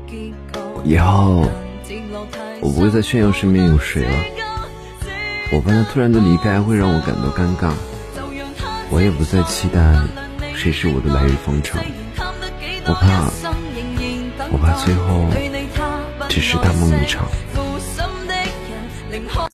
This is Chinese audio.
以后我不会再炫耀身边有谁了，我怕他突然的离开会让我感到尴尬，我也不再期待谁是我的来日方长，我怕最后只是大梦一场。